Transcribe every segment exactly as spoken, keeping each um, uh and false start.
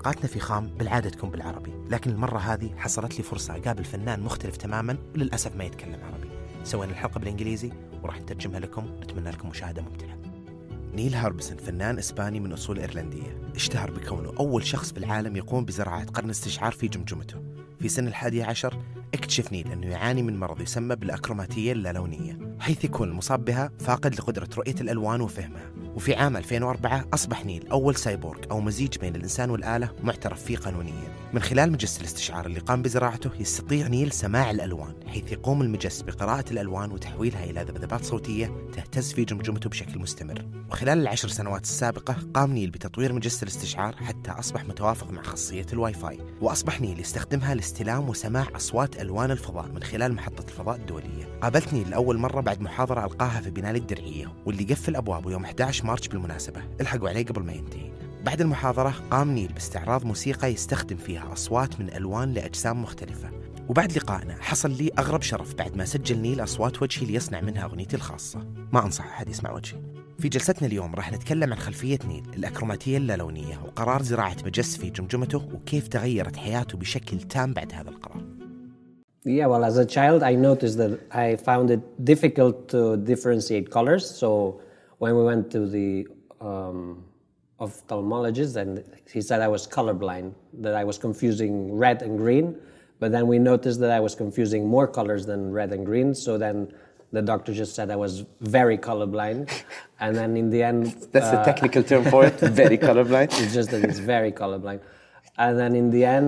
حلقاتنا في خام بالعادة تكون بالعربي، لكن المرة هذه حصلت لي فرصة أقابل فنان مختلف تماماً وللأسف ما يتكلم عربي. سوينا الحلقة بالإنجليزي وراح نترجمها لكم، نتمنى لكم مشاهدة ممتعة. نيل هاربسون فنان إسباني من أصول إيرلندية، اشتهر بكونه أول شخص بالعالم يقوم بزراعة قرن استشعار في جمجمته. في سن الحادي عشر اكتشف نيل أنه يعاني من مرض يسمى بالأكروماتية اللالونية، حيث يكون المصاب بها فاقد لقدرة رؤية الألوان وفهمها. وفي عام ألفين وأربعة أصبح نيل أول سايبورغ أو مزيج بين الإنسان والآلة معترف فيه قانونيا. من خلال مجس الاستشعار اللي قام بزراعته يستطيع نيل سماع الألوان، حيث يقوم المجس بقراءة الألوان وتحويلها إلى ذبذبات صوتية تهتز في جمجمته بشكل مستمر. وخلال العشر سنوات السابقة قام نيل بتطوير مجس الاستشعار حتى أصبح متوافق مع خاصية الواي فاي، وأصبح نيل يستخدمها لاستلام وسماع أصوات ألوان الفضاء من خلال محطة الفضاء الدولية. قابلت نيل لأول مرة بعد محاضرة ألقاها في بناء الدرعية، واللي قفل أبوابه يوم أحد عشر مارس بالمناسبة، الحقوا عليه قبل ما ينتهي. بعد المحاضرة قام نيل باستعراض موسيقى يستخدم فيها أصوات من ألوان لأجسام مختلفة. وبعد لقائنا حصل لي أغرب شرف بعد ما سجل نيل أصوات وجهي ليصنع منها أغنيتي الخاصة. ما أنصح أحد يسمع وجهي. في جلستنا اليوم راح نتكلم عن خلفية نيل، الأكروماتية اللالونية، وقرار زراعة مجس في جمجمته، وكيف تغيرت حياته بشكل تام بعد هذا القرار. Yeah, well, as a child, I noticed that I found it difficult to differentiate colors. So when we went to the um, ophthalmologist, and he said I was colorblind, that I was confusing red and green. But then we noticed that I was confusing more colors than red and green. So then the doctor just said I was very colorblind. And then in the end... That's uh, the technical term for it, very colorblind. It's just that it's very colorblind. And then in the end...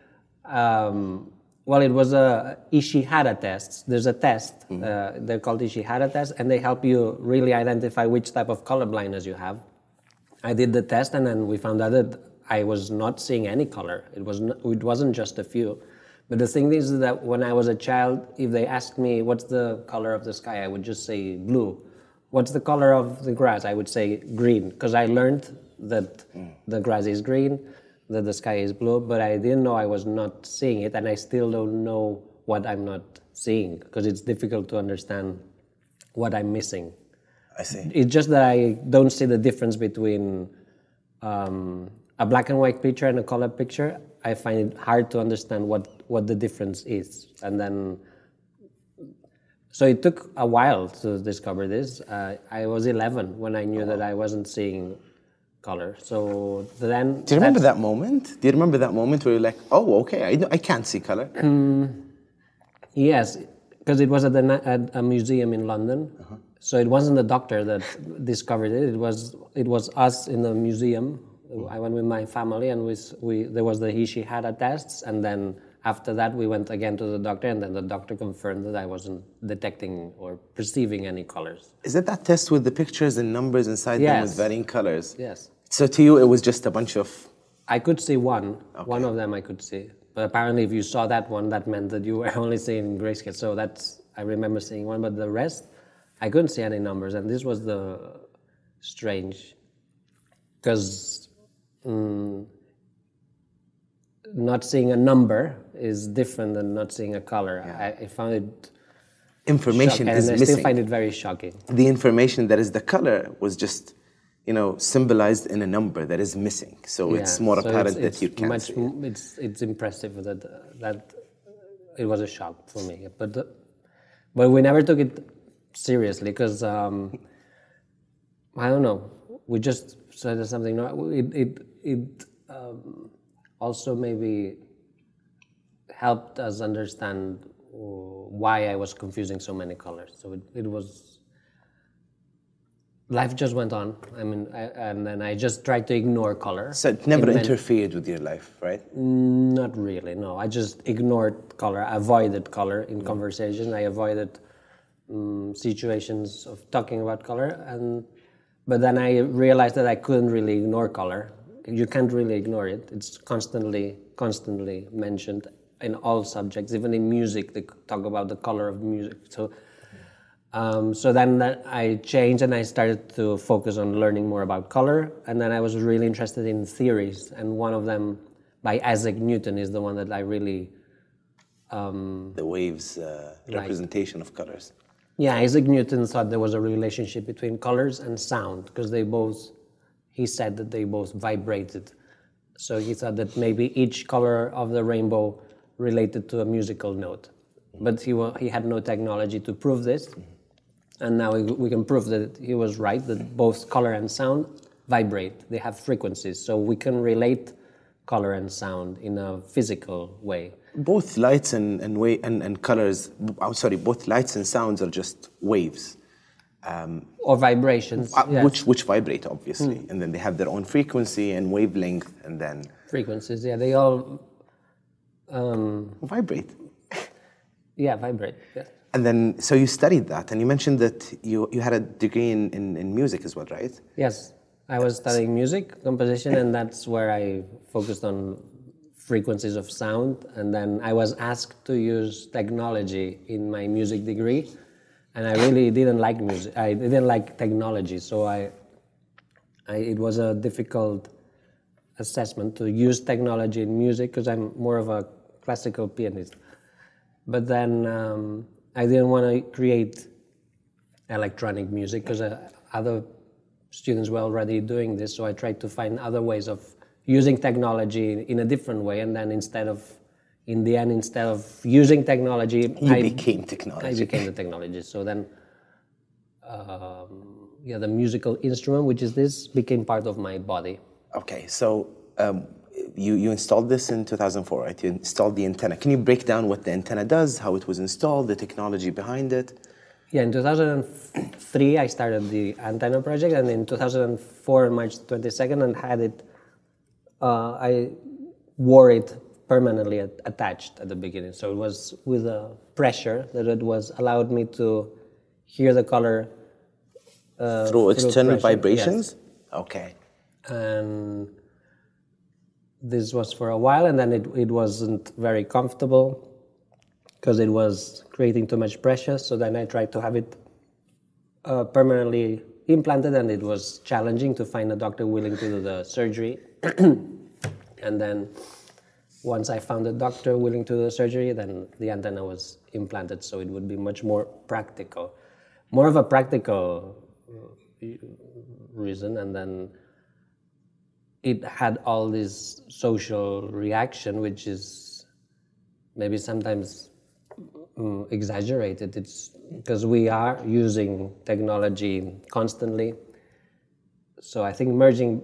Um, Well, it was a Ishihara test. There's a test. Mm-hmm. Uh, they're called Ishihara tests, and they help you really identify which type of color blindness you have. I did the test, and then we found out that I was not seeing any color. It was not, it wasn't just a few. But the thing is that when I was a child, if they asked me what's the color of the sky, I would just say blue. What's the color of the grass? I would say green, because I learned that mm. the grass is green, that the sky is blue, but I didn't know I was not seeing it, and I still don't know what I'm not seeing, because it's difficult to understand what I'm missing. I see. It's just that I don't see the difference between um, a black and white picture and a color picture. I find it hard to understand what, what the difference is. And then, so it took a while to discover this. Uh, I was eleven when I knew oh. that I wasn't seeing color. So then... Do you remember that moment? Do you remember that moment where you're like, oh, okay, I, I can't see color? Um, yes, because it was at, the, at a museum in London. Uh-huh. So it wasn't the doctor that discovered it. It was it was us in the museum. I went with my family, and we, we there was the Ishihara tests, and then after that we went again to the doctor, and then the doctor confirmed that I wasn't detecting or perceiving any colors. Is it that test with the pictures and numbers inside yes. them with varying colors? Yes. So to you it was just a bunch of... I could see one. Okay. One of them I could see. But apparently if you saw that one, that meant that you were only seeing grayscale. So that's, I remember seeing one, but the rest, I couldn't see any numbers. And this was the strange, because um, not seeing a number is different than not seeing a color. Yeah. I, I found it information shocking, is and I missing. still find it very shocking. The information that is the color was just, you know, symbolized in a number that is missing. So yeah. it's more so apparent it's, that it's you can't much, see it. It's, it's impressive that, that it was a shock for me. But, uh, but we never took it seriously, because, um, I don't know, we just said something. It, it, it um, also maybe helped us understand why I was confusing so many colors. So it, it was... Life just went on. I mean, I, and then I just tried to ignore color. So it never it interfered with your life, right? Not really, no. I just ignored color, I avoided color in mm. conversation. I avoided um, situations of talking about color. And but then I realized that I couldn't really ignore color. You can't really ignore it. It's constantly, constantly mentioned in all subjects. Even in music, they talk about the color of music. So. Um, so then I changed, and I started to focus on learning more about color, and then I was really interested in theories, and one of them by Isaac Newton is the one that I really... Um, the waves uh, representation like. of colors. Yeah, Isaac Newton thought there was a relationship between colors and sound, because they both, he said that they both vibrated So he thought that maybe each color of the rainbow related to a musical note. But he, wa- he had no technology to prove this. And now we, we can prove that he was right, that both color and sound vibrate. They have frequencies. So we can relate color and sound in a physical way. Both lights and and, wa- and and colors. I'm sorry. Both lights and sounds are just waves, Or vibrations. uh, yes. which which vibrate obviously, and then they have their own frequency and wavelength, and then Frequencies, yeah, they all, um, vibrate. yeah, vibrate. Yeah. And then, so you studied that, and you mentioned that you you had a degree in, in, in music as well, right? Yes, I was studying music composition, and that's where I focused on frequencies of sound. And then I was asked to use technology in my music degree, and I really didn't like music. I didn't like technology, so I, I it was a difficult assessment to use technology in music because I'm more of a classical pianist. But then um, I didn't want to create electronic music because uh, other students were already doing this, so I tried to find other ways of using technology in a different way. And then instead of, in the end, instead of using technology, You I became technology. I became the technology. So then, um, yeah, the musical instrument, which is this, became part of my body. Okay, so um, you you installed this in two thousand four, right? You installed the antenna. Can you break down what the antenna does, how it was installed, the technology behind it? Yeah, in two thousand three, I started the antenna project, and in two thousand four, March twenty-second, and had it. Uh, I wore it permanently at, attached at the beginning, so it was with a pressure that it was allowed me to hear the color uh, Through external pressure, vibrations? yes. Okay. And this was for a while, and then it, it wasn't very comfortable because it was creating too much pressure. So then I tried to have it uh, permanently implanted, and it was challenging to find a doctor willing to do the surgery. And then once I found a doctor willing to do the surgery, then the antenna was implanted, so it would be much more practical. More of a practical reason, and then it had all this social reaction, which is maybe sometimes um, exaggerated. It's because we are using technology constantly. So I think merging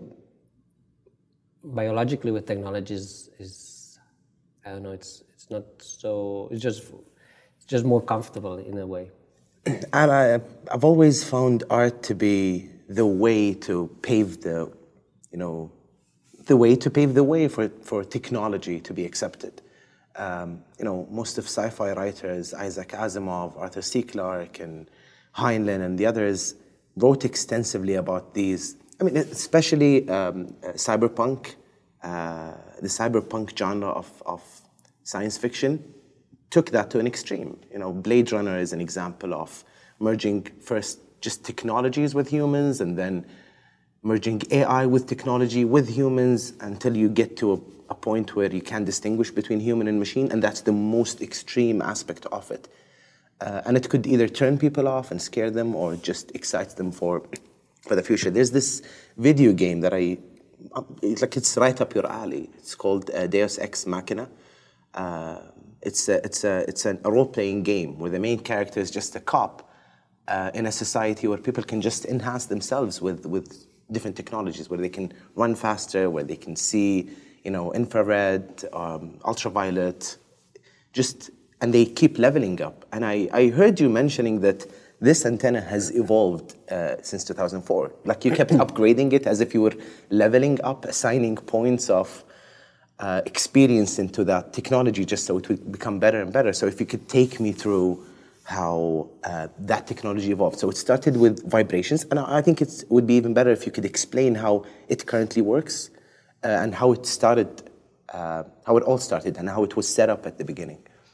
biologically with technology is, is I don't know, it's it's not so, it's just it's just more comfortable in a way. And I, I've always found art to be the way to pave the, you know, the way to pave the way for, for technology to be accepted. Um, you know, most of sci-fi writers, Isaac Asimov, Arthur C. Clarke, and Heinlein, and the others wrote extensively about these. I mean, especially um, uh, cyberpunk, uh, the cyberpunk genre of, of science fiction took that to an extreme. You know, Blade Runner is an example of merging first just technologies with humans, and then merging A I with technology with humans until you get to a, a point where you can distinguish between human and machine, and that's the most extreme aspect of it. Uh, and it could either turn people off and scare them, or just excite them for for the future. There's this video game that I, it's like it's right up your alley. It's called uh, Deus Ex Machina. Uh, it's a, it's a, it's a role-playing game where the main character is just a cop uh, in a society where people can just enhance themselves with with different technologies, where they can run faster, where they can see, you know, infrared, um, ultraviolet, just, and they keep leveling up. And I, I heard you mentioning that this antenna has evolved uh, since two thousand four. Like you kept upgrading it as if you were leveling up, assigning points of uh, experience into that technology just so it would become better and better. So if you could take me through how uh, that technology evolved. So it started with vibrations, and I think it's, it would be even better if you could explain how it currently works uh, and how it started, uh, how it all started, and how it was set up at the beginning.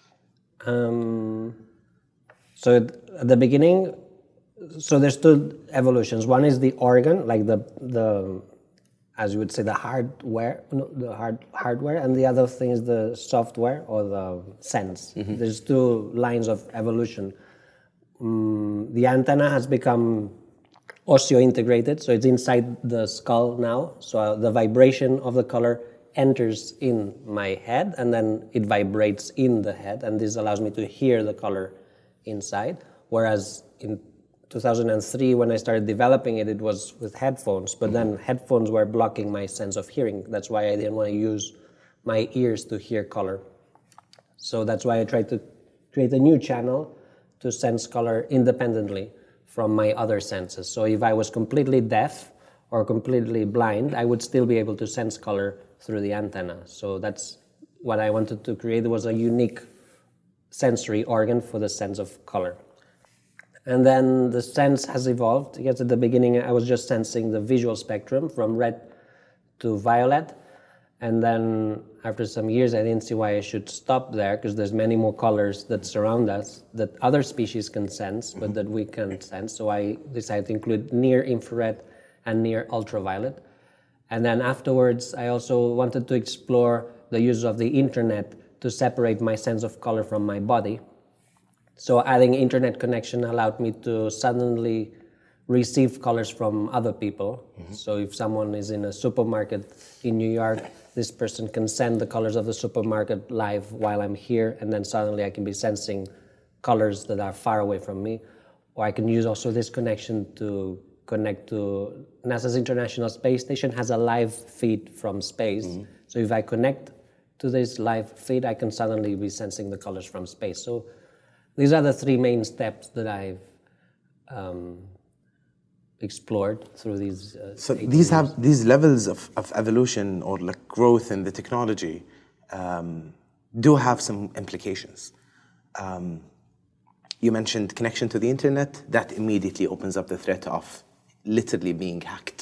Um, so at the beginning, so there's two evolutions. One is the organ, like the the, as you would say, the hardware, no, the hard hardware, and the other thing is the software or the sense. Mm-hmm. There's two lines of evolution. Um, the antenna has become osseointegrated, so it's inside the skull now. So uh, the vibration of the color enters in my head and then it vibrates in the head, and this allows me to hear the color inside. Whereas in two thousand three, when I started developing it, it was with headphones, but then headphones were blocking my sense of hearing. That's why I didn't want to use my ears to hear color. So that's why I tried to create a new channel to sense color independently from my other senses. So if I was completely deaf or completely blind, I would still be able to sense color through the antenna. So that's what I wanted to create, was a unique sensory organ for the sense of color. And then the sense has evolved. Yes, at the beginning I was just sensing the visual spectrum from red to violet. And then after some years I didn't see why I should stop there, because there's many more colors that surround us that other species can sense, but that we can't sense. So I decided to include near infrared and near ultraviolet. And then afterwards I also wanted to explore the use of the internet to separate my sense of color from my body. So adding internet connection allowed me to suddenly receive colors from other people. Mm-hmm. So if someone is in a supermarket in New York, this person can send the colors of the supermarket live while I'm here, and then suddenly I can be sensing colors that are far away from me. Or I can use also this connection to connect to NASA's International Space Station has a live feed from space. Mm-hmm. So if I connect to this live feed, I can suddenly be sensing the colors from space. So these are the three main steps that I've um, explored through these. Uh, so these have these levels of, of evolution or like growth in the technology um, do have some implications. Um, you mentioned connection to the internet. That immediately opens up the threat of literally being hacked.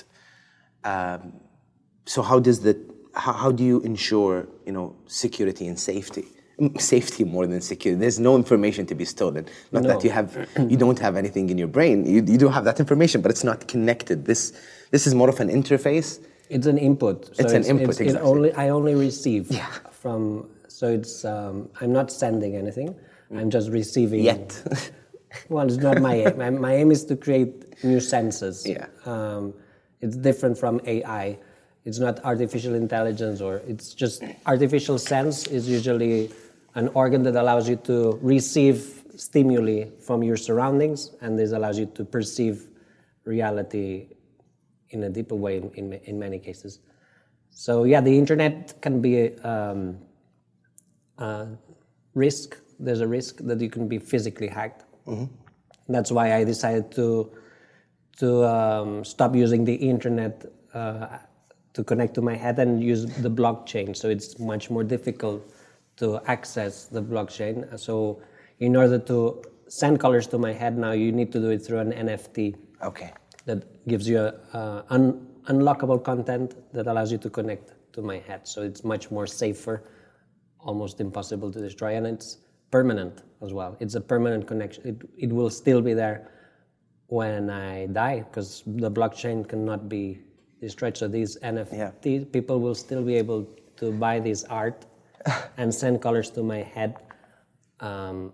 Um, so how does that? How, how do you ensure, you know, security and safety? Safety more than security. There's no information to be stolen. Not no. that you have, you don't have anything in your brain. You, you do have that information, but it's not connected. This, this is more of an interface. It's an input. So it's, it's an input. It's, exactly. It only, I only receive yeah. from. So it's. Um, I'm not sending anything. I'm just receiving. Yet. Well, it's not my aim. My, my aim is to create new senses. Yeah. Um, it's different from A I. It's not artificial intelligence, or it's just artificial sense is usually an organ that allows you to receive stimuli from your surroundings, and this allows you to perceive reality in a deeper way in, in, in many cases. So yeah, the internet can be um, a risk. There's a risk that you can be physically hacked. Mm-hmm. That's why I decided to, to um, stop using the internet uh, to connect to my head and use the blockchain. So it's much more difficult to access the blockchain. So in order to send colors to my head now, you need to do it through an N F T. Okay. That gives you uh, un- unlockable content that allows you to connect to my head. So it's much more safer, almost impossible to destroy, and it's permanent as well. It's a permanent connection. It, it will still be there when I die, because the blockchain cannot be destroyed. So these N F T yeah. people will still be able to buy this art and send colors to my head um,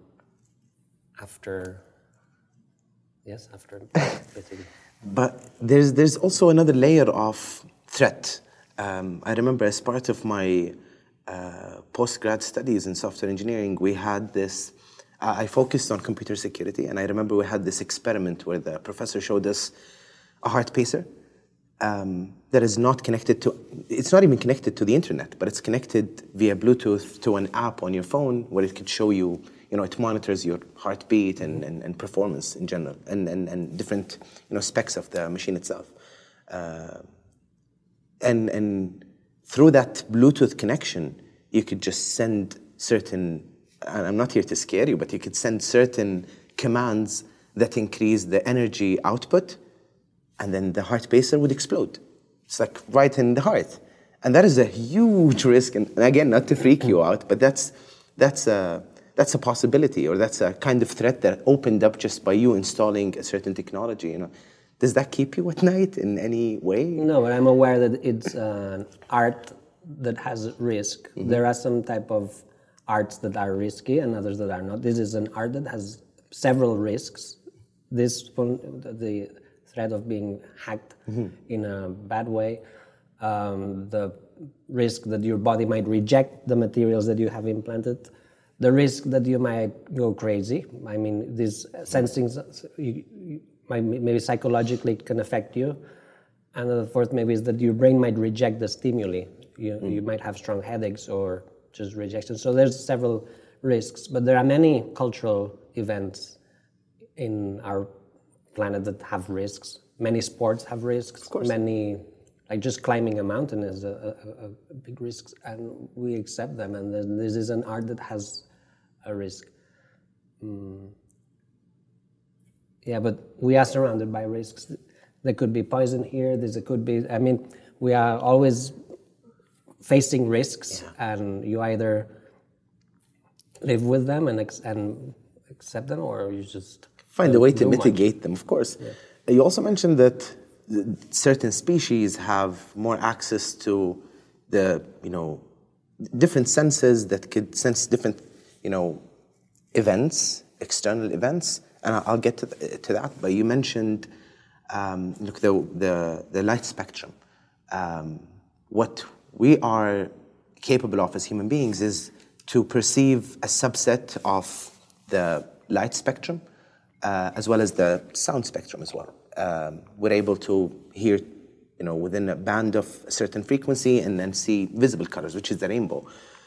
after, yes, after basically. But there's there's also another layer of threat. Um, I remember as part of my uh, post-grad studies in software engineering, we had this, uh, I focused on computer security, and I remember we had this experiment where the professor showed us a heart pacer um, that is not connected to, it's not even connected to the internet, but it's connected via Bluetooth to an app on your phone where it could show you, you know, it monitors your heartbeat and, and, and performance in general, and, and, and different, you know, specs of the machine itself. Uh, and, and through that Bluetooth connection, you could just send certain, and I'm not here to scare you, but you could send certain commands that increase the energy output, and then the heart pacer would explode. It's like right in the heart. And that is a huge risk, and again, not to freak you out, but that's, that's a, that's a possibility, or that's a kind of threat that opened up just by you installing a certain technology, you know. Does that keep you at night in any way? No, but I'm aware that it's uh, art that has risk. Mm-hmm. There are some type of arts that are risky and others that are not. This is an art that has several risks. This one, the threat of being hacked mm-hmm. in a bad way, um, the risk that your body might reject the materials that you have implanted, the risk that you might go crazy. I mean, these sensing you, you might, maybe psychologically it can affect you. And the fourth maybe is that your brain might reject the stimuli. You, mm. you might have strong headaches or just rejection. So there's several risks, but there are many cultural events in our planet that have risks. Many sports have risks. Of course. Many, like just climbing a mountain is a, a, a big risk, and we accept them. And then this is an art that has a risk. Mm. Yeah, but we are surrounded by risks. There could be poison here. There could be. I mean, we are always facing risks, yeah. and you either live with them and ex- and accept them, or you just find a way to mitigate much. them. Of course. Yeah. You also mentioned that certain species have more access to the, you know, different senses that could sense different, you know, events, external events, and I'll get to, th- to that. But you mentioned, um, look, the, the the light spectrum. Um, what we are capable of as human beings is to perceive a subset of the light spectrum, uh, as well as the sound spectrum as well. Um, we're able to hear, you know, within a band of a certain frequency and then see visible colors, which is the rainbow.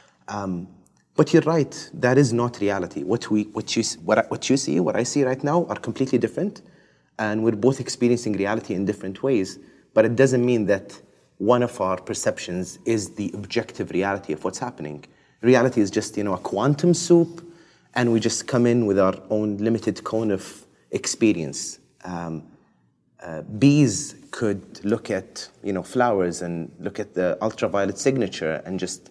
Um, but you're right, that is not reality. What we, what you, what, I, what you see, what I see right now are completely different, and we're both experiencing reality in different ways. But it doesn't mean that one of our perceptions is the objective reality of what's happening. Reality is just, you know, a quantum soup, and we just come in with our own limited cone of experience. Um, uh, bees could look at, you know, flowers and look at the ultraviolet signature and just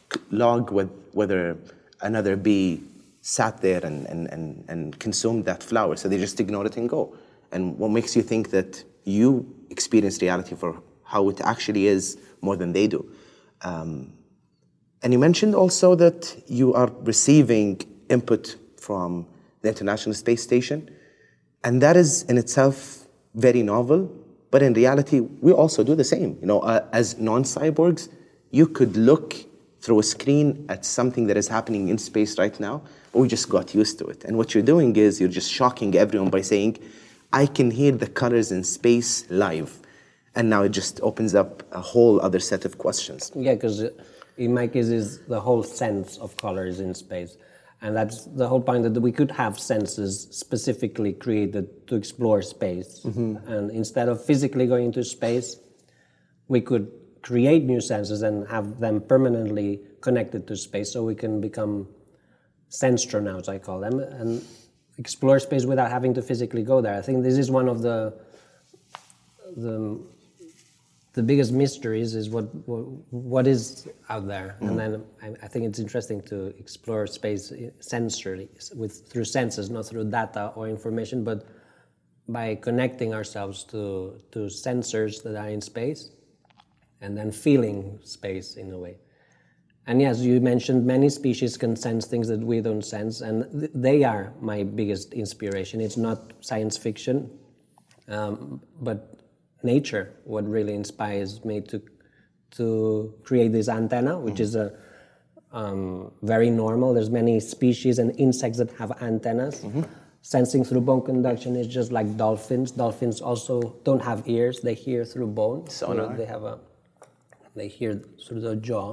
log with whether another bee sat there and, and, and, and consumed that flower. So they just ignore it and go. And what makes you think that you experience reality for how it actually is more than they do? Um, and you mentioned also that you are receiving input from the International Space Station, and that is in itself very novel, but in reality, we also do the same. You know, uh, as non-cyborgs, you could look through a screen at something that is happening in space right now, but we just got used to it. And what you're doing is you're just shocking everyone by saying, I can hear the colors in space live. And now it just opens up a whole other set of questions. Yeah, because in my case, is the whole sense of colors in space. And that's the whole point, that we could have senses specifically created to explore space. Mm-hmm. And instead of physically going into space, we could create new senses and have them permanently connected to space, so we can become sensstronauts, I call them, and explore space without having to physically go there. I think this is one of the the, the biggest mysteries, is what what, what is out there. Mm-hmm. And then I, I think it's interesting to explore space sensorily, with through senses, not through data or information, but by connecting ourselves to to sensors that are in space, and then feeling space in a way. And yes, you mentioned many species can sense things that we don't sense, and th- they are my biggest inspiration. It's not science fiction, um, but nature, what really inspires me to to create this antenna, which mm-hmm. is a um, very normal. There's many species and insects that have antennas. Mm-hmm. Sensing through bone conduction is just like dolphins. Dolphins also don't have ears; they hear through bone. Sonar. So they have a they hear through the jaw.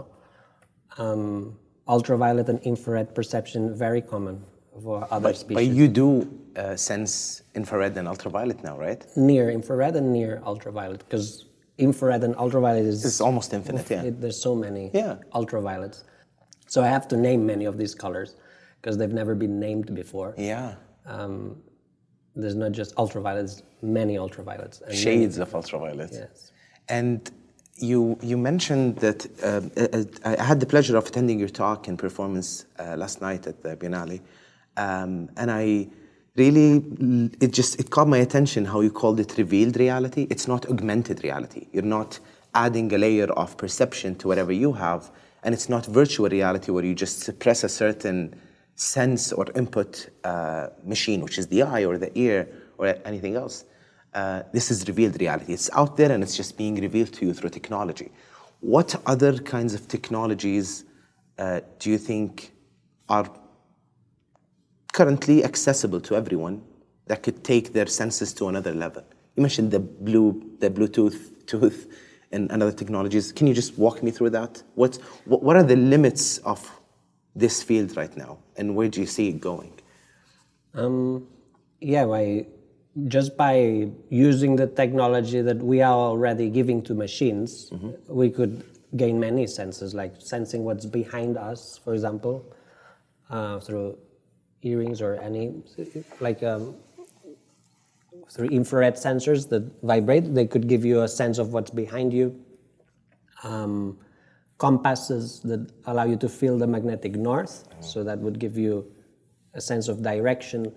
Um, ultraviolet and infrared perception, very common for other but, species. But you do uh, sense infrared and ultraviolet now, right? Near infrared and near ultraviolet, because infrared and ultraviolet is... It's almost infinite, yeah. It, there's so many yeah. ultraviolets. So I have to name many of these colors, because they've never been named before. Yeah. Um, there's not just ultraviolets, many ultraviolets. And Shades many, of ultraviolet. Yes. And You you mentioned that uh, I had the pleasure of attending your talk and performance uh, last night at the Biennale, um, and I really it just it caught my attention how you called it revealed reality. It's not augmented reality. You're not adding a layer of perception to whatever you have, and it's not virtual reality where you just suppress a certain sense or input uh, machine, which is the eye or the ear or anything else. Uh, this is revealed reality. It's out there and it's just being revealed to you through technology. what other kinds of technologies uh, do you think are currently accessible to everyone that could take their senses to another level? You mentioned the blue, the Bluetooth tooth and, and other technologies. Can you just walk me through that? What, what what are the limits of this field right now, and where do you see it going? Um, yeah, by, just by using the technology that we are already giving to machines, mm-hmm. we could gain many senses, like sensing what's behind us, for example, uh, through earrings or any, like um, through infrared sensors that vibrate. They could give you a sense of what's behind you. Um, compasses that allow you to feel the magnetic north, mm-hmm. so that would give you a sense of direction.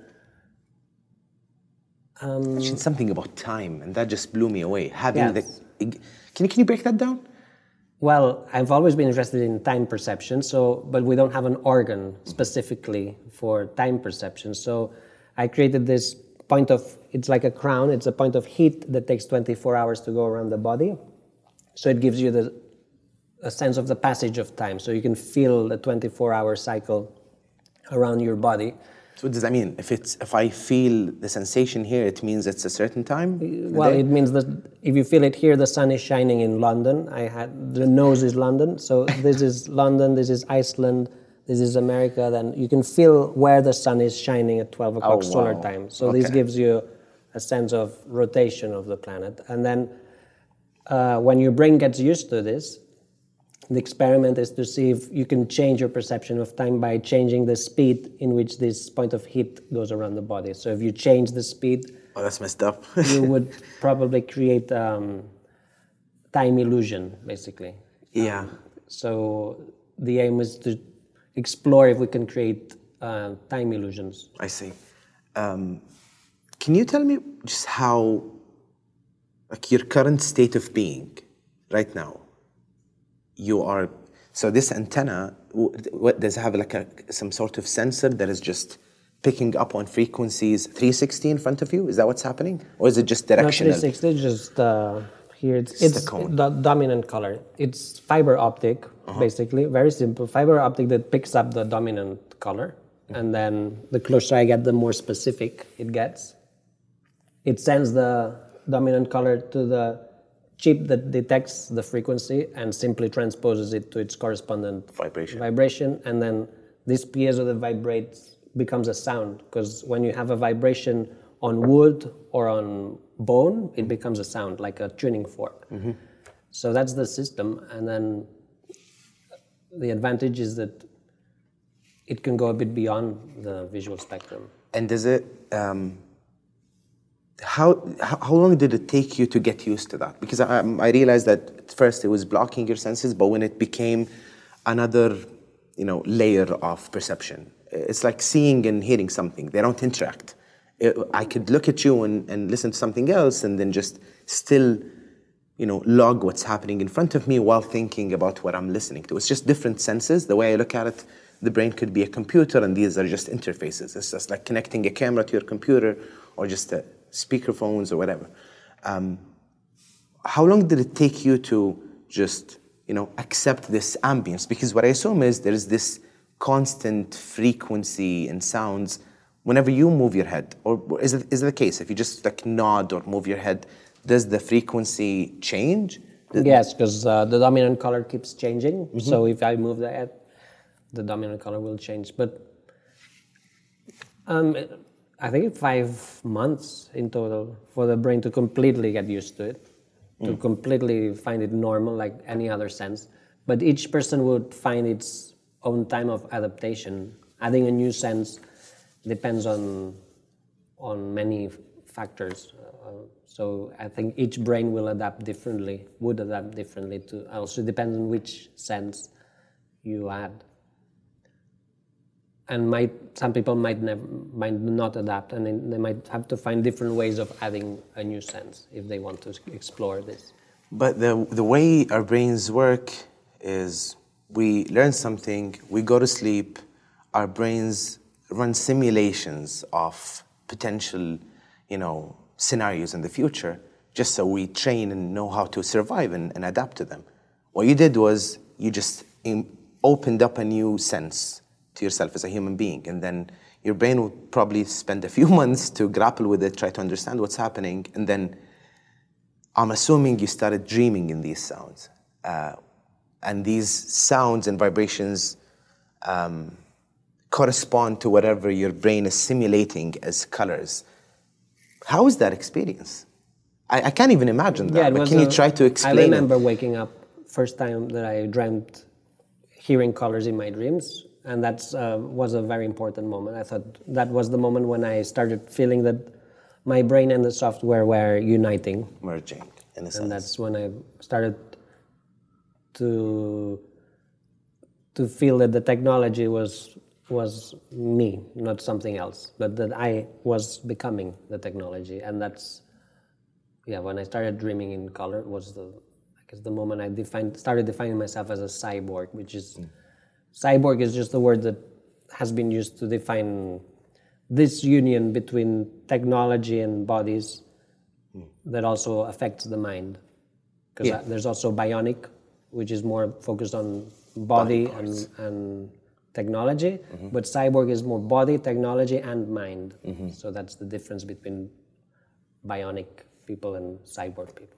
Um, you mentioned something about time, and that just blew me away. Having yes. the, can you can you break that down? Well, I've always been interested in time perception, so but we don't have an organ specifically for time perception. So I created this point of, it's like a crown, it's a point of heat that takes twenty-four hours to go around the body. So it gives you the a sense of the passage of time, so you can feel the twenty-four hour cycle around your body. So what does that mean? If it's if I feel the sensation here, it means it's a certain time? Well, it means that if you feel it here, the sun is shining in London. I had the nose is London, so this is London, this is Iceland, this is America. Then you can feel where the sun is shining at twelve o'clock oh, wow. solar time. So okay. this gives you a sense of rotation of the planet. And then uh, when your brain gets used to this, the experiment is to see if you can change your perception of time by changing the speed in which this point of heat goes around the body. So if you change the speed, oh, that's messed up. you would probably create um, time illusion, basically. Yeah. Um, so the aim is to explore if we can create uh, time illusions. I see. Um, can you tell me just how, like your current state of being right now? You are, so this antenna, what, does it have like a, some sort of sensor that is just picking up on frequencies three sixty in front of you? Is that what's happening? Or is it just directional? No, three sixty, just uh, here, it's, It's it's the cone. the dominant color. It's fiber optic, Uh-huh. basically, very simple. Fiber optic that picks up the dominant color. Mm-hmm. And then the closer I get, the more specific it gets. It sends the dominant color to the chip that detects the frequency and simply transposes it to its correspondent Vibration. vibration, and then this piezo that vibrates becomes a sound, because when you have a vibration on wood or on bone, it becomes a sound, like a tuning fork. Mm-hmm. So that's the system, and then the advantage is that it can go a bit beyond the visual spectrum. And does it, um, How, how long did it take you to get used to that? Because I, I realized that at first it was blocking your senses, but when it became another, you know, layer of perception, it's like seeing and hearing something. They don't interact. It, I could look at you and, and listen to something else and then just still, you know, log what's happening in front of me while thinking about what I'm listening to. It's just different senses. The way I look at it, the brain could be a computer and these are just interfaces. It's just like connecting a camera to your computer or just a speaker phones or whatever. Um, how long did it take you to just, you know, accept this ambience? Because what I assume is there is this constant frequency and sounds whenever you move your head. Or is it, is it the case? If you just like nod or move your head, does the frequency change? Yes, because uh, the dominant color keeps changing. Mm-hmm. So if I move the head, the dominant color will change. But um, I think five months in total for the brain to completely get used to it, mm. to completely find it normal like any other sense. But each person would find its own time of adaptation. Adding a new sense depends on on many factors. Uh, so I think each brain will adapt differently, would adapt differently to, also depends on which sense you add. And might, some people might never, might not adapt, and they might have to find different ways of adding a new sense if they want to explore this. But the the way our brains work is we learn something, we go to sleep, our brains run simulations of potential, you know, scenarios in the future, just so we train and know how to survive and, and adapt to them. What you did was you just in, opened up a new sense to yourself as a human being, and then your brain would probably spend a few months to grapple with it, try to understand what's happening, and then I'm assuming you started dreaming in these sounds. Uh, and these sounds and vibrations um, correspond to whatever your brain is simulating as colors. How is that experience? I, I can't even imagine that, Yeah, but was can a- you try to explain I remember it? waking up, first time that I dreamt hearing colors in my dreams, and that uh, was a very important moment. I thought that was the moment when I started feeling that my brain and the software were uniting, Merging, in a and sense. that's when I started to to feel that the technology was was me, not something else, but that I was becoming the technology, and that's yeah. When I started dreaming in color, was the I guess the moment I defined started defining myself as a cyborg, which is mm. cyborg is just the word that has been used to define this union between technology and bodies mm. that also affects the mind. Because Yeah. there's also bionic, which is more focused on body, Body and, parts. and technology, Mm-hmm. but cyborg is more body, technology, and mind. Mm-hmm. So that's the difference between bionic people and cyborg people.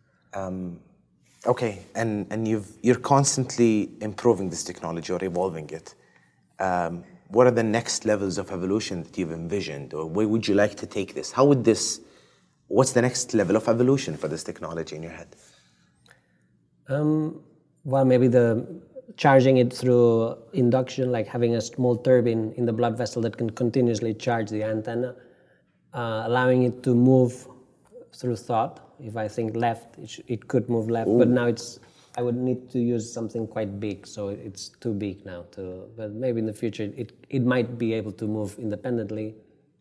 Okay, and, and you've, you're constantly improving this technology or evolving it. Um, what are the next levels of evolution that you've envisioned, or where would you like to take this? How would this, what's the next level of evolution for this technology in your head? Um, well, maybe the charging it through induction, like having a small turbine in the blood vessel that can continuously charge the antenna, uh, allowing it to move through thought. If I think left, it, sh- it could move left, but now it's, I would need to use something quite big, so it's too big now to, but maybe in the future it, it might be able to move independently.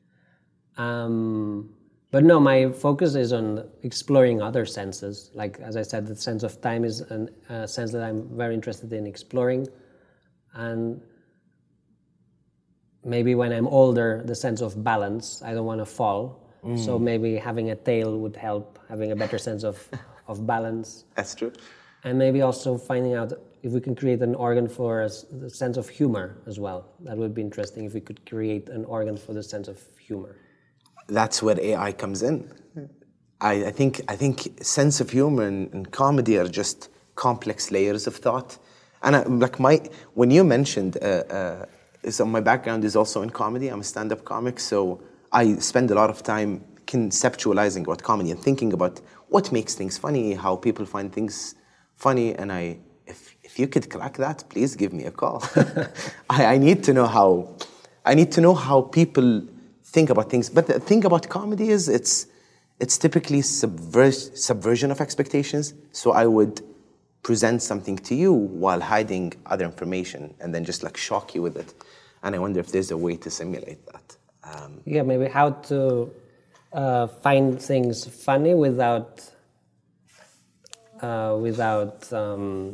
Um, but no, my focus is on exploring other senses. Like, as I said, the sense of time is an- a sense that I'm very interested in exploring. And maybe when I'm older, the sense of balance, I don't want to fall. So maybe having a tail would help, having a better sense of, of balance. That's true. And maybe also finding out if we can create an organ for us, the sense of humor as well. That would be interesting if we could create an organ for the sense of humor. That's where A I comes in. I, I think I think sense of humor and, and comedy are just complex layers of thought. And I, like my when you mentioned, uh, uh, so my background is also in comedy. I'm a stand-up comic, so I spend a lot of time conceptualizing about comedy and thinking about what makes things funny, how people find things funny. And I, if if you could crack that, please give me a call. I, I need to know how. I need to know how people think about things. But the thing about comedy is it's it's typically subvers- subversion of expectations. So I would present something to you while hiding other information and then just like shock you with it. And I wonder if there's a way to simulate that. Um, Yeah, maybe how to uh, find things funny without uh, without. Um,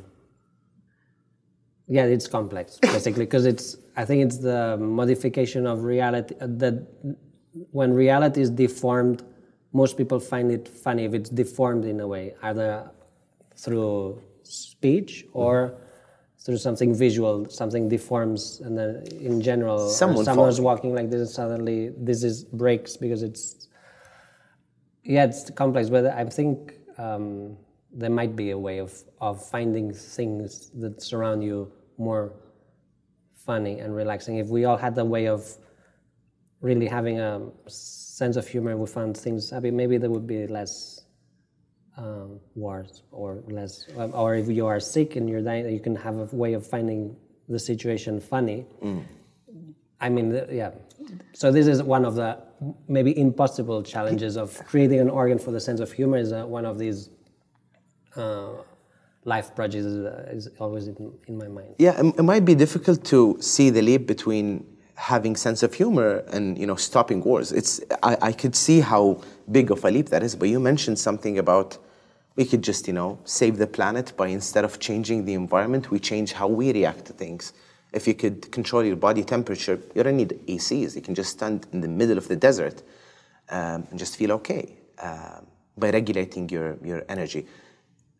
yeah, it's complex basically because it's. I think it's the modification of reality uh, that when reality is deformed, most people find it funny if it's deformed in a way, either through speech or. Mm-hmm. Through something visual, something deforms, and then in general, Someone someone's falling. walking like this, and suddenly this is breaks because it's. Yeah, it's complex, but I think um, there might be a way of of finding things that surround you more funny and relaxing. If we all had a way of really having a sense of humor, we found things happy. Maybe there would be less. Um, wars or less, or if you are sick and you're dying, you can have a way of finding the situation funny. Mm. I mean, yeah. So this is one of the maybe impossible challenges of creating an organ for the sense of humor. Is uh, one of these uh, life projects is, uh, is always in, in my mind. Yeah, it, it might be difficult to see the leap between having sense of humor and you know stopping wars. It's I, I could see how big of a leap that is. But you mentioned something about we could just you know save the planet by instead of changing the environment, we change how we react to things. If you could control your body temperature, you don't need A Cs. You can just stand in the middle of the desert um, and just feel okay um, by regulating your your energy.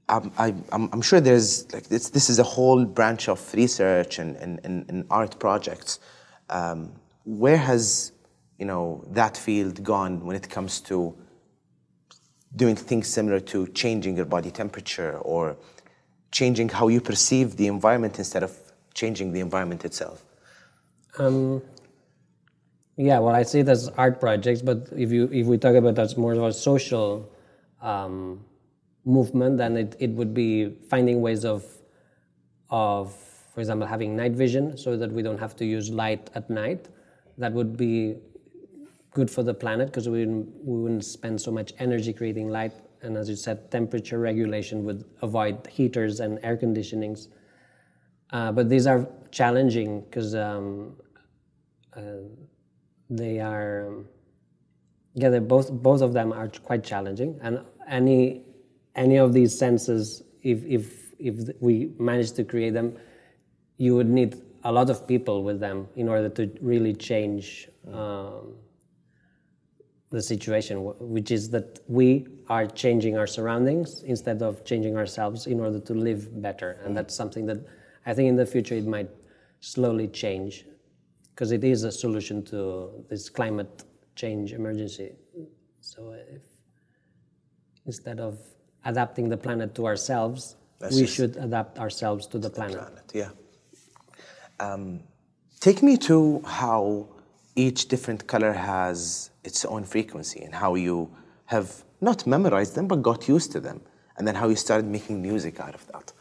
Um, I, I'm, I'm sure there's like this. This is a whole branch of research and, and, and, and art projects. Um, where has you know that field gone when it comes to doing things similar to changing your body temperature or changing how you perceive the environment instead of changing the environment itself? Um, yeah, well, I see it as art projects, but if you if we talk about that as more of a social um, movement, then it, it would be finding ways of, of, for example, having night vision so that we don't have to use light at night. That would be good for the planet because we wouldn't, we wouldn't spend so much energy creating light. And as you said, temperature regulation would avoid heaters and air conditionings. Uh, but these are challenging because um, uh, they are, um, yeah, they're both both of them are quite challenging. And any any of these senses, if if if we manage to create them, you would need a lot of people with them in order to really change um, the situation, which is that we are changing our surroundings instead of changing ourselves in order to live better. And that's something that I think in the future it might slowly change because it is a solution to this climate change emergency. So if instead of adapting the planet to ourselves, That's we should adapt ourselves to the to planet. The planet. Yeah. Um, take me to how each different color has its own frequency and how you have not memorized them but got used to them, and then how you started making music out of that.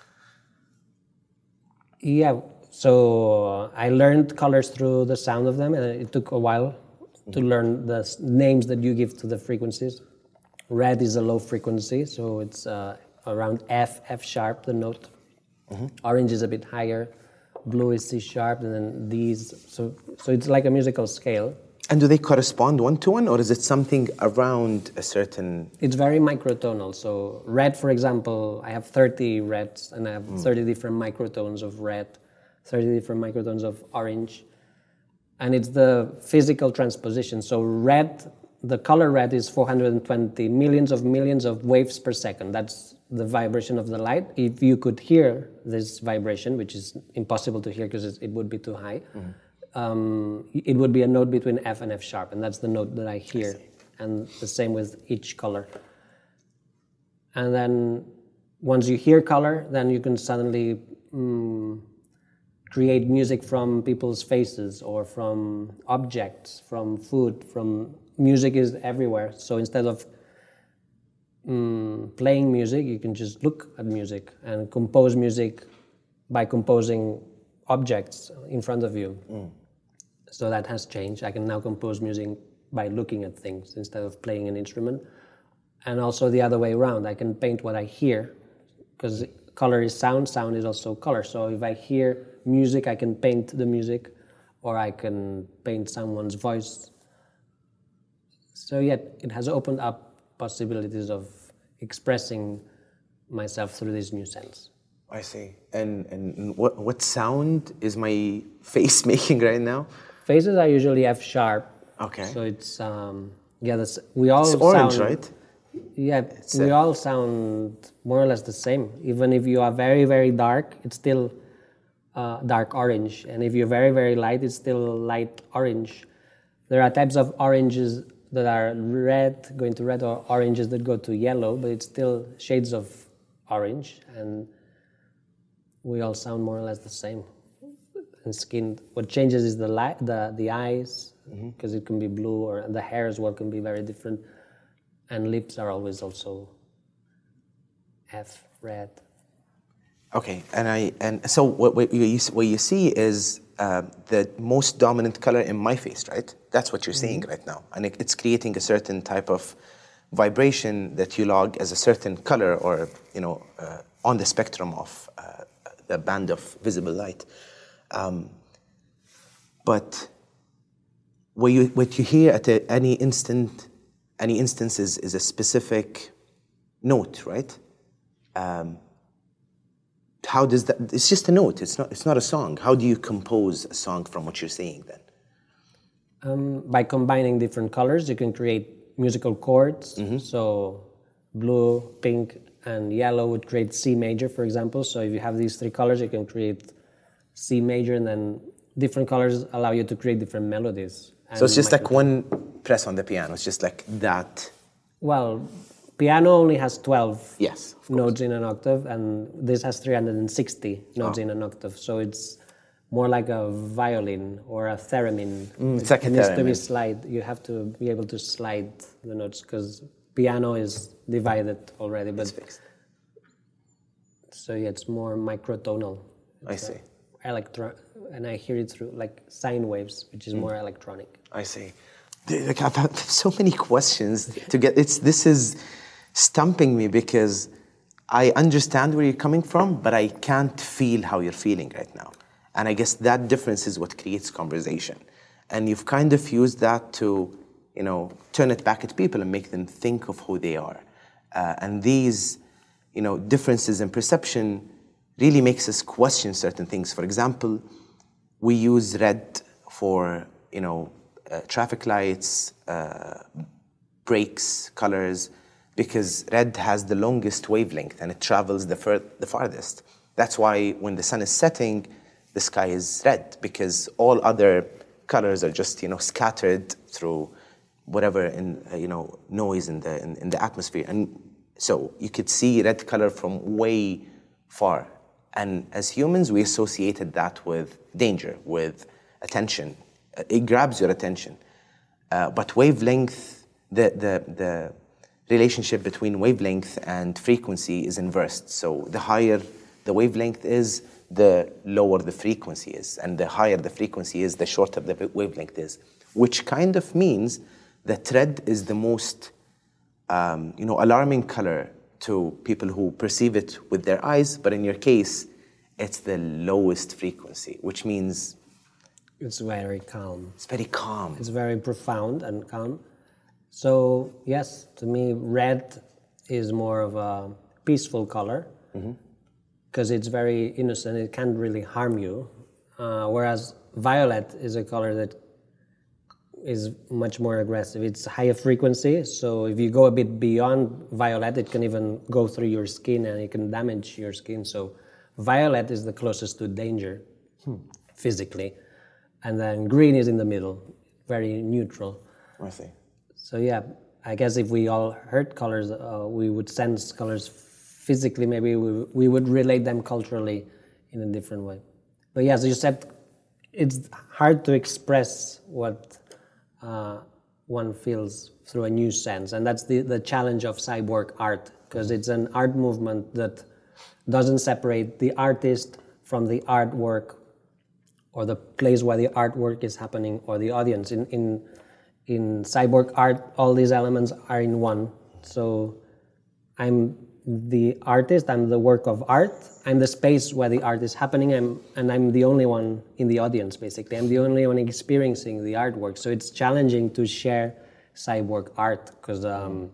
Yeah, so I learned colors through the sound of them, and it took a while mm-hmm. to learn the names that you give to the frequencies. Red is a low frequency, so it's uh, around F, F sharp, the note. Mm-hmm. Orange is a bit higher. Blue is C sharp, and then these. So, so it's like a musical scale. And do they correspond one to one, or is it something around a certain? It's very microtonal. So red, for example, I have thirty reds, and I have mm. thirty different microtones of red, thirty different microtones of orange, and it's the physical transposition. So red. The color red is four hundred twenty millions of millions of waves per second. That's the vibration of the light. If you could hear this vibration, which is impossible to hear because it would be too high, mm-hmm. um, it would be a note between F and F sharp, and that's the note that I hear. I and the same with each color. And then once you hear color, then you can suddenly mm, create music from people's faces or from objects, from food, from... Music is everywhere, so instead of mm, playing music, you can just look at music and compose music by composing objects in front of you. Mm. So that has changed. I can now compose music by looking at things instead of playing an instrument. And also the other way around, I can paint what I hear, because color is sound, sound is also color. So if I hear music, I can paint the music, or I can paint someone's voice. So yeah, it has opened up possibilities of expressing myself through this new sense. I see. And and what what sound is my face making right now? Faces are usually F sharp. Okay. So it's um yeah, that's we all it's orange, sound, right? Yeah, it's we a, all sound more or less the same. Even if you are very very dark, it's still uh, dark orange, and if you're very very light, it's still light orange. There are types of oranges that are red, going to red, or oranges that go to yellow, but it's still shades of orange, and we all sound more or less the same. And skin, what changes is the light, the the eyes, because mm-hmm. it can be blue, or the hair as well can be very different, and lips are always also F, red. Okay, and I and so what what you what you see is uh, the most dominant color in my face, right? That's what you're seeing mm-hmm. right now, and it, it's creating a certain type of vibration that you log as a certain color, or you know, uh, on the spectrum of uh, the band of visible light. Um, but what you what you hear at a, any instant, any instance is, is a specific note, right? Um, how does that? It's just a note. It's not. It's not a song. How do you compose a song from what you're seeing then? Um, by combining different colors, you can create musical chords. Mm-hmm. So blue, pink, and yellow would create C major, for example. So if you have these three colors, you can create C major, and then different colors allow you to create different melodies. So it's just like one press on the piano. It's just like that. Well, piano only has twelve Yes, notes in an octave, and this has three hundred sixty notes Oh. in an octave. So it's more like a violin or a theremin. Mm, it's like a it needs to be theremin. slide. You have to be able to slide the notes because piano is divided already. But It's fixed. so yeah, it's more microtonal. I It's, uh, see. Electro, and I hear it through like sine waves, which Mm. is more electronic. I see. Dude, Like I've had so many questions to get. It's this is stumping me because I understand where you're coming from, but I can't feel how you're feeling right now. And I guess that difference is what creates conversation. And you've kind of used that to, you know, turn it back at people and make them think of who they are. Uh, and these, you know, differences in perception really makes us question certain things. For example, we use red for, you know, uh, traffic lights, uh, brakes, colors, because red has the longest wavelength and it travels the, fur- the farthest. That's why when the sun is setting, the sky is red, because all other colors are just, you know, scattered through whatever in, uh, you know, noise in the in, in the atmosphere. And so you could see red color from way far. And as humans, we associated that with danger, with attention. Uh, It grabs your attention. Uh, but wavelength, the, the, the relationship between wavelength and frequency is inversed. So the higher the wavelength is, the lower the frequency is. And the higher the frequency is, the shorter the wavelength is. Which kind of means that red is the most um, you know, alarming color to people who perceive it with their eyes, but in your case, it's the lowest frequency, which means It's very calm. it's very calm. It's very profound and calm. So yes, to me, red is more of a peaceful color because it's very innocent. It can't really harm you. Uh, whereas violet is a color that is much more aggressive. It's higher frequency, so if you go a bit beyond violet, it can even go through your skin and it can damage your skin. So violet is the closest to danger physically. And then green is in the middle, very neutral. I see. So yeah, I guess if we all heard colors, uh, we would sense colors physically. Maybe we, we would relate them culturally in a different way. But yeah, as you said, it's hard to express what uh, one feels through a new sense. And that's the, the challenge of cyborg art, because it's an art movement that doesn't separate the artist from the artwork or the place where the artwork is happening or the audience. In, in, in cyborg art, all these elements are in one. So I'm the artist, I'm the work of art, I'm the space where the art is happening, I'm, and I'm the only one in the audience, basically. I'm the only one experiencing the artwork. So it's challenging to share cyborg art, because um,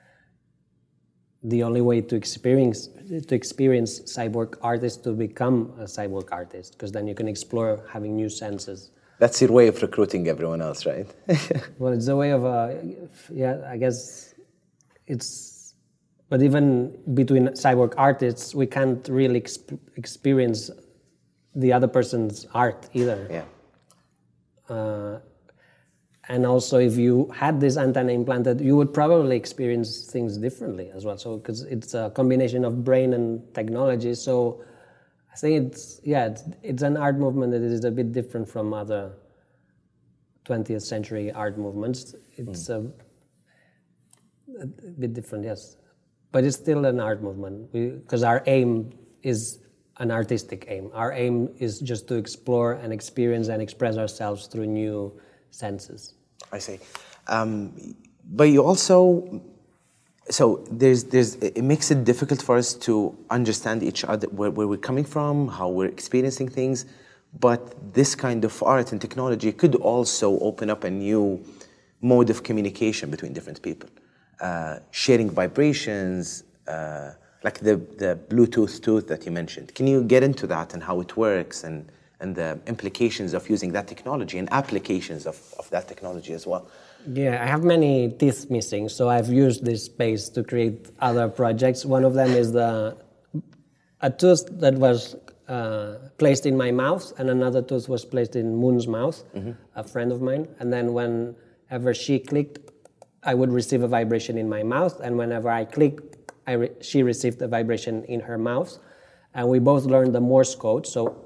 the only way to experience to experience cyborg art is to become a cyborg artist, because then you can explore having new senses. That's your way of recruiting everyone else, right? Well, it's a way of, uh, yeah, I guess it's, but even between cyborg artists, we can't really exp- experience the other person's art either. Yeah. Uh, and also, if you had this antenna implanted, you would probably experience things differently as well. So, because it's a combination of brain and technology. So, I think it's, yeah, it's, it's an art movement that is a bit different from other twentieth century art movements. It's mm. a, a bit different, yes. But it's still an art movement, because our aim is an artistic aim. Our aim is just to explore and experience and express ourselves through new senses. I see. Um, but you also, so there's, there's, it makes it difficult for us to understand each other, where, where we're coming from, how we're experiencing things. But this kind of art and technology could also open up a new mode of communication between different people. Uh, sharing vibrations, uh, like the, the Bluetooth tooth that you mentioned. Can you get into that and how it works and, and the implications of using that technology and applications of, of that technology as well. Yeah, I have many teeth missing, so I've used this space to create other projects. One of them is the a tooth that was uh, placed in my mouth, and another tooth was placed in Moon's mouth, mm-hmm. a friend of mine. And then whenever she clicked, I would receive a vibration in my mouth, and whenever I clicked, I re- she received a vibration in her mouth. And we both learned the Morse code, so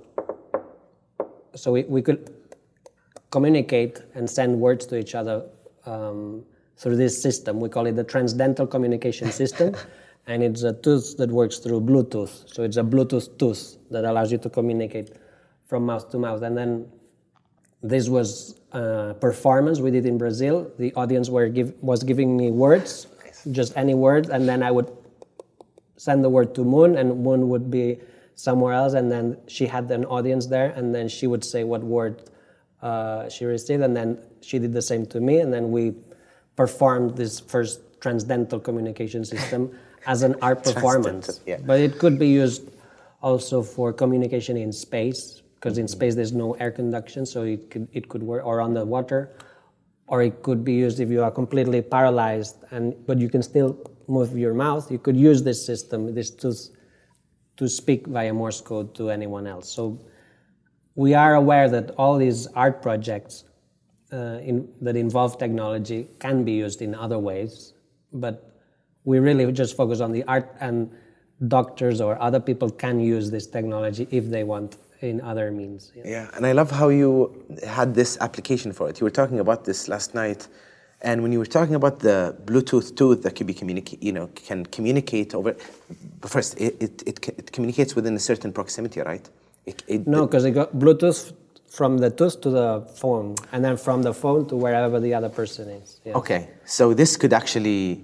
so we, we could communicate and send words to each other um, through this system. We call it the transdental communication system, and it's a tooth that works through Bluetooth. So it's a Bluetooth tooth that allows you to communicate from mouth to mouth. And then this was a performance we did in Brazil. The audience were give, was giving me words, just any word, and then I would send the word to Moon, and Moon would be somewhere else, and then she had an audience there, and then she would say what word uh, she received, and then she did the same to me, and then we performed this first transdental communication system as an art performance. Yeah. But it could be used also for communication in space, because in space there's no air conduction, so it could it could work, or on the water, or it could be used if you are completely paralyzed, and but you can still move your mouth. You could use this system, this tooth, to speak via Morse code to anyone else. So we are aware that all these art projects uh, in, that involve technology can be used in other ways, but we really just focus on the art, and doctors or other people can use this technology if they want in other means. Yeah, yeah. And I love how you had this application for it. You were talking about this last night, and when you were talking about the Bluetooth tooth that can be communicate, you know, can communicate over. But first, it, it it it communicates within a certain proximity, right? It, it, no, because it got Bluetooth from the tooth to the phone, and then from the phone to wherever the other person is. Yes. Okay, so this could actually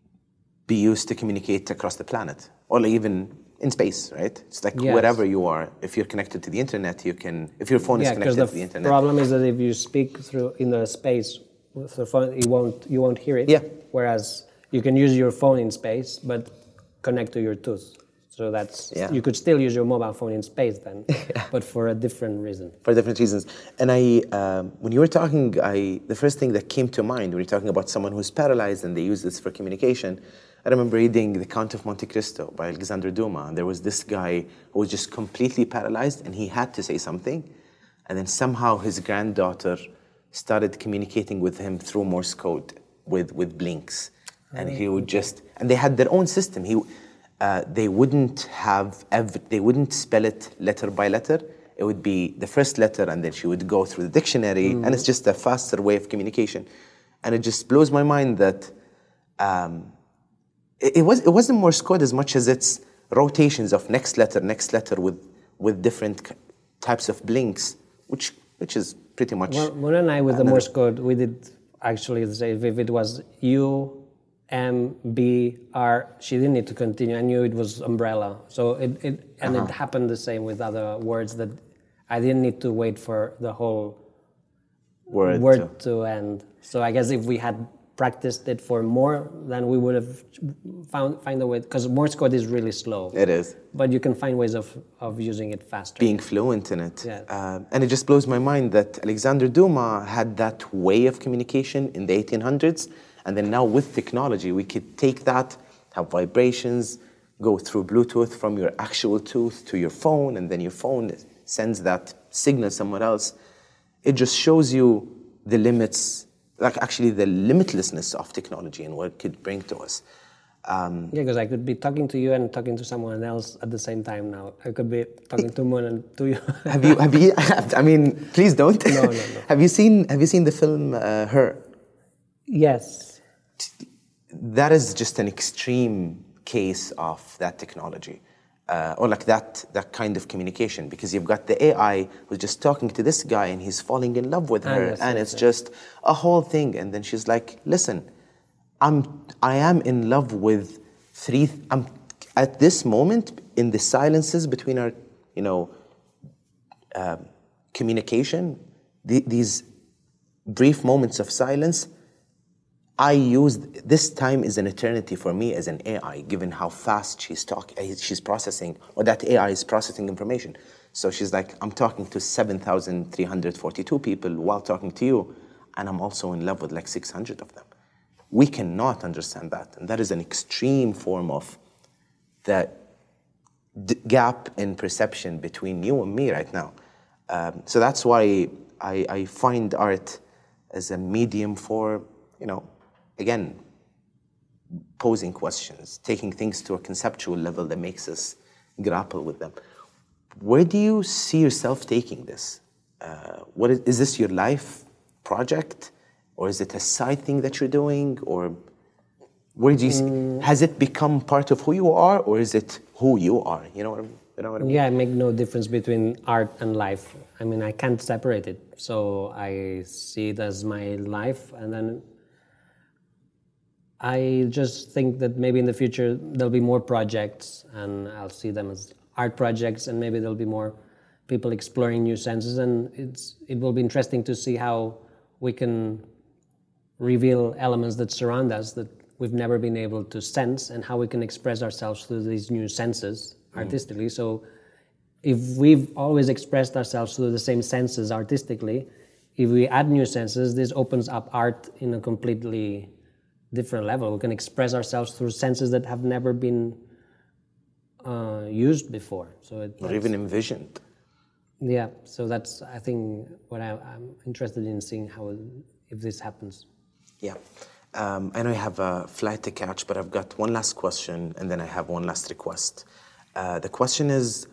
be used to communicate across the planet, or even in space, right? It's like yes. wherever you are. If you're connected to the internet, you can. If your phone yeah, is connected the to the internet. The problem is that if you speak through in the space with the phone, you won't you won't hear it. Yeah. Whereas you can use your phone in space, but connect to your tooth. So that's yeah. you could still use your mobile phone in space then, yeah. but for a different reason. For different reasons. And I, um, when you were talking, I the first thing that came to mind when you're talking about someone who's paralyzed and they use this for communication, I remember reading The Count of Monte Cristo by Alexander Dumas. And there was this guy who was just completely paralyzed, and he had to say something, and then somehow his granddaughter started communicating with him through Morse code with with blinks, and he would just, and they had their own system. He. Uh, they wouldn't have, ev- they wouldn't spell it letter by letter. It would be the first letter, and then she would go through the dictionary, mm. and it's just a faster way of communication. And it just blows my mind that um, it, it was it wasn't Morse code as much as it's rotations of next letter, next letter with with different types of blinks, which which is pretty much. Well, Mona and I with the Morse code, we did actually say if it was you. M, B, R, she didn't need to continue. I knew it was umbrella. So it, it and uh-huh. it happened the same with other words that I didn't need to wait for the whole word, word to. to end. So I guess if we had practiced it for more, then we would have found find a way, because Morse code is really slow. It is. But you can find ways of, of using it faster. Being fluent in it. Yeah. Uh, and it just blows my mind that Alexander Dumas had that way of communication in the eighteen hundreds. And then now with technology, we could take that, have vibrations, go through Bluetooth from your actual tooth to your phone, and then your phone sends that signal somewhere else. It just shows you the limits, like actually the limitlessness of technology and what it could bring to us. Um, yeah, because I could be talking to you and talking to someone else at the same time now. I could be talking to Moon and to you. have you? Have you? I mean, please don't. No, no, no. Have you seen? Have you seen the film uh, Her? Yes. That is just an extreme case of that technology, uh, or like that that kind of communication, because you've got the A I who's just talking to this guy and he's falling in love with her, yes, and yes, it's yes. just a whole thing. And then she's like, "Listen, I'm I am in love with three. I'm at this moment in the silences between our, you know, uh, communication. The, these brief moments of silence." I used, this time is an eternity for me as an A I, given how fast she's talking, she's processing, or that A I is processing information. So she's like, I'm talking to seven thousand three hundred forty-two people while talking to you, and I'm also in love with like six hundred of them. We cannot understand that. And that is an extreme form of the d- gap in perception between you and me right now. Um, so that's why I, I find art as a medium for, you know, again, posing questions, taking things to a conceptual level that makes us grapple with them. Where do you see yourself taking this? Uh, what is, is this your life project, or is it a side thing that you're doing, or where do you see, Mm. has it become part of who you are, or is it who you are? You know what I mean? You know what I mean? Yeah, I make no difference between art and life. I mean, I can't separate it. So I see it as my life, and then I just think that maybe in the future there'll be more projects, and I'll see them as art projects, and maybe there'll be more people exploring new senses, and it's it will be interesting to see how we can reveal elements that surround us that we've never been able to sense, and how we can express ourselves through these new senses artistically. So if we've always expressed ourselves through the same senses artistically, if we add new senses, this opens up art in a completely different level. We can express ourselves through senses that have never been uh, used before. So it, Or even envisioned. yeah, so that's, I think, what I, I'm interested in seeing how, if this happens. Yeah. Um, I know you have a flight to catch, but I've got one last question, and then I have one last request. Uh, the question is,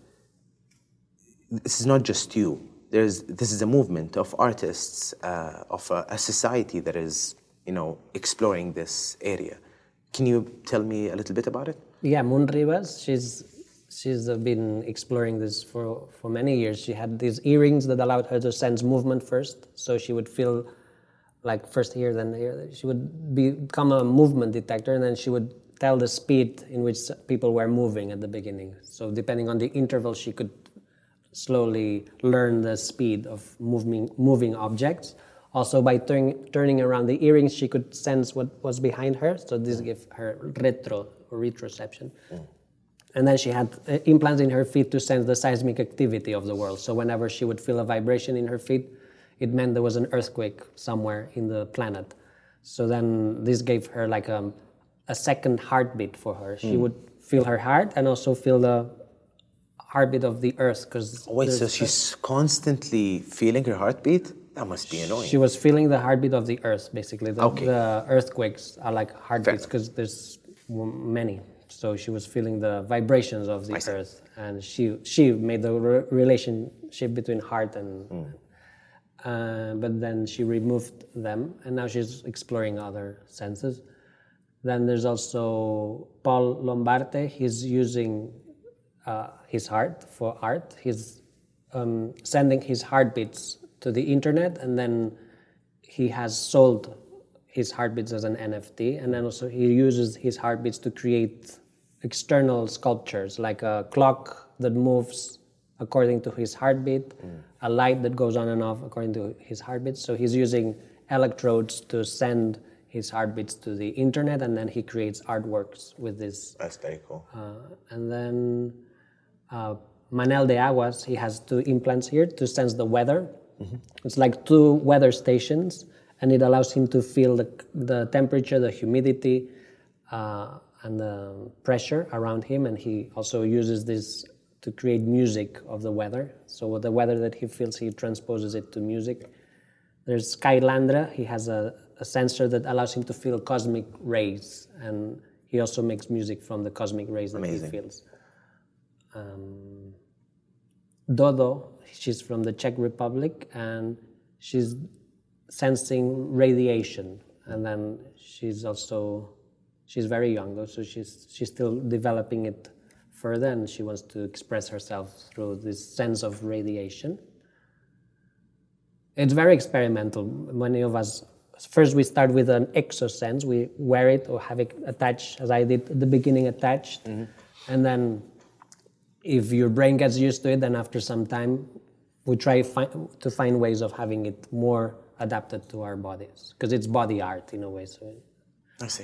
this is not just you. There's, this is a movement of artists, uh, of a, a society that is, you know, exploring this area. Can you tell me a little bit about it? Yeah, Moon Rivas, she's she's uh, been exploring this for, for many years. She had these earrings that allowed her to sense movement first, so she would feel like first here, then here. She would be, become a movement detector, and then she would tell the speed in which people were moving at the beginning. So depending on the interval, she could slowly learn the speed of moving moving objects. Also, by turn, turning around the earrings, she could sense what was behind her. So this gave her retro or retroception. Mm. And then she had uh, implants in her feet to sense the seismic activity of the world. So whenever she would feel a vibration in her feet, it meant there was an earthquake somewhere in the planet. So then this gave her like a, a second heartbeat for her. She mm. would feel her heart and also feel the heartbeat of the earth. Cause Wait, so she's constantly feeling her heartbeat? That must be annoying. She was feeling the heartbeat of the earth, basically. The, okay. the earthquakes are like heartbeats because there's many. So she was feeling the vibrations of the I earth, see. And she she made the re- relationship between heart and. Mm. Uh, but then she removed them, and now she's exploring other senses. Then there's also Paul Lombarte. He's using uh, his heart for art. He's um, sending his heartbeats to the internet, and then he has sold his heartbeats as an N F T, and then also he uses his heartbeats to create external sculptures, like a clock that moves according to his heartbeat, mm. a light that goes on and off according to his heartbeat. So he's using electrodes to send his heartbeats to the internet, and then he creates artworks with this. That's very cool. Uh, and then uh, Manel de Aguas, he has two implants here to sense the weather. Mm-hmm. It's like two weather stations, and it allows him to feel the, the temperature, the humidity, uh, and the pressure around him. And he also uses this to create music of the weather. So the weather that he feels, he transposes it to music. There's Skylandra. He has a, a sensor that allows him to feel cosmic rays, and he also makes music from the cosmic rays that Amazing. he feels. Um, Dodo, she's from the Czech Republic, and she's sensing radiation. And then she's also, she's very young though, so she's she's still developing it further, and she wants to express herself through this sense of radiation. It's very experimental. Many of us, first we start with an exosense, we wear it or have it attached, as I did at the beginning, attached, mm-hmm. and then if your brain gets used to it, then after some time, we try fi- to find ways of having it more adapted to our bodies, because it's body art in a way. So. I see.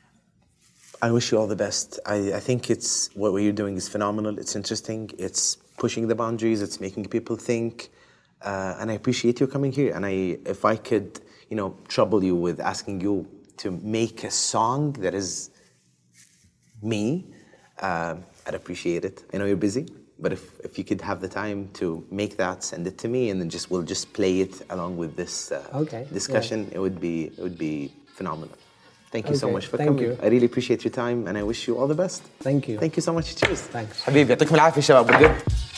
I wish you all the best. I, I think it's what you're doing is phenomenal. It's interesting. It's pushing the boundaries. It's making people think. Uh, and I appreciate you coming here. And I, if I could, you know, trouble you with asking you to make a song that is me, uh, I'd appreciate it. I know you're busy, but if, if you could have the time to make that, send it to me, and then just we'll just play it along with this uh, okay. discussion. Yeah. It would be it would be phenomenal. Thank you okay. so much for Thank coming. you. I really appreciate your time, and I wish you all the best. Thank you. Thank you so much. Cheers. Thanks. حبيبي يعطيكم العافية شباب بجد.